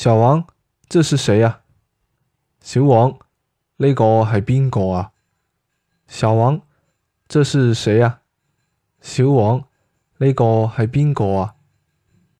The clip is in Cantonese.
小王，這是誰呀？小王，呢個係邊個啊？小王，這是誰呀？小王，呢個係邊個啊？